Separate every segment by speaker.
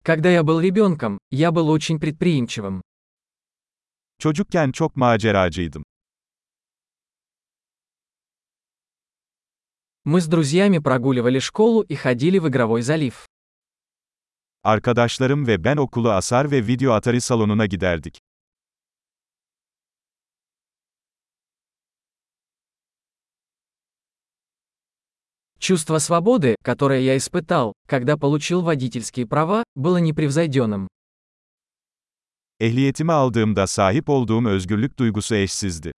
Speaker 1: Когда я был ребенком, я был очень предприимчивым.
Speaker 2: Çocukken çok maceracıydım.
Speaker 1: Мы с друзьями прогуливали школу и ходили в игровой залив.
Speaker 2: Arkadaşlarım ve ben okulu asar ve video atari salonuna giderdik.
Speaker 1: Чувство свободы, которое я испытал, когда получил водительские права, было непревзойденным.
Speaker 2: Ehliyetimi aldığımda sahip olduğum özgürlük duygusu eşsizdi.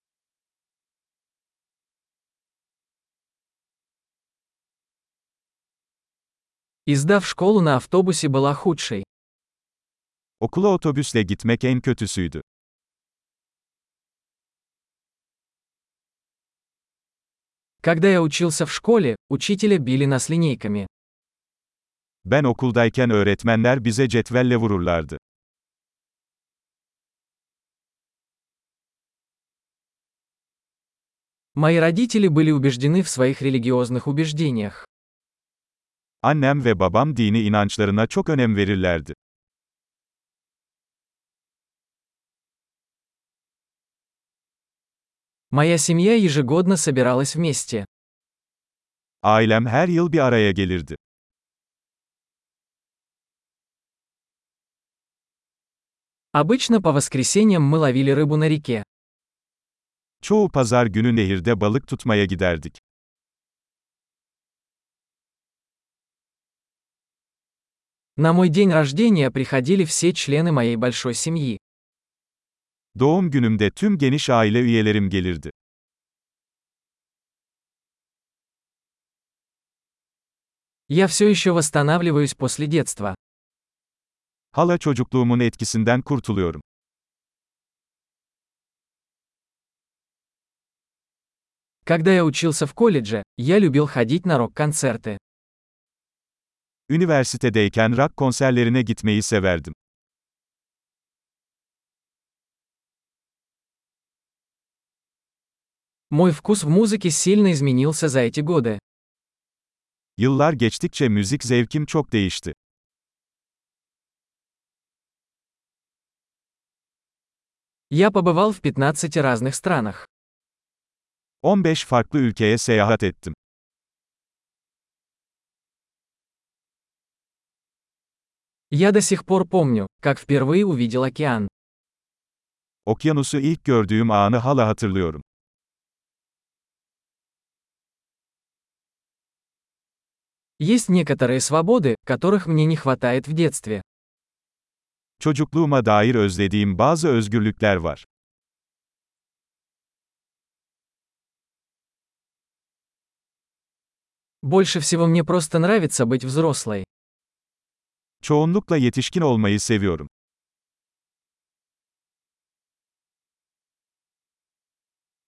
Speaker 1: И сдав школу на автобусе была худшей.
Speaker 2: Okula otobüsle gitmek en kötüsüydü.
Speaker 1: Когда я учился в школе, учителя били нас линейками.
Speaker 2: Ben okuldayken öğretmenler bize cetvelle vururlardı.
Speaker 1: Мои родители были убеждены в своих религиозных убеждениях.
Speaker 2: Annem ve babam dini inançlarına çok önem verirlerdi.
Speaker 1: Моя семья ежегодно собиралась вместе.
Speaker 2: Ailem her yıl bir araya gelirdi.
Speaker 1: Обычно по воскресеньям мы ловили рыбу на реке.
Speaker 2: Çoğu pazar günü nehirde balık tutmaya giderdik.
Speaker 1: На мой день рождения приходили все члены моей большой семьи.
Speaker 2: Doğum günümde tüm geniş aile üyelerim gelirdi.
Speaker 1: Я все еще восстанавливаюсь после детства.
Speaker 2: Hala çocukluğumun etkisinden kurtuluyorum.
Speaker 1: Когда я учился в колледже, я любил ходить на рок-концерты.
Speaker 2: Üniversitedeyken rock konserlerine gitmeyi severdim.
Speaker 1: Мой вкус в музыке сильно изменился за эти годы.
Speaker 2: Yıllar geçtikçe müzik zevkim çok değişti.
Speaker 1: Я побывал в 15 разных странах.
Speaker 2: 15 farklı ülkeye seyahat ettim.
Speaker 1: Я до сих пор помню, как впервые увидел океан.
Speaker 2: Okyanusu ilk gördüğüm anı hala hatırlıyorum.
Speaker 1: Есть некоторые свободы, которых мне не хватает в детстве.
Speaker 2: Çocukluğuma dair özlediğim bazı özgürlükler var.
Speaker 1: Больше всего мне просто нравится быть взрослой.
Speaker 2: Çoğunlukla yetişkin olmayı seviyorum.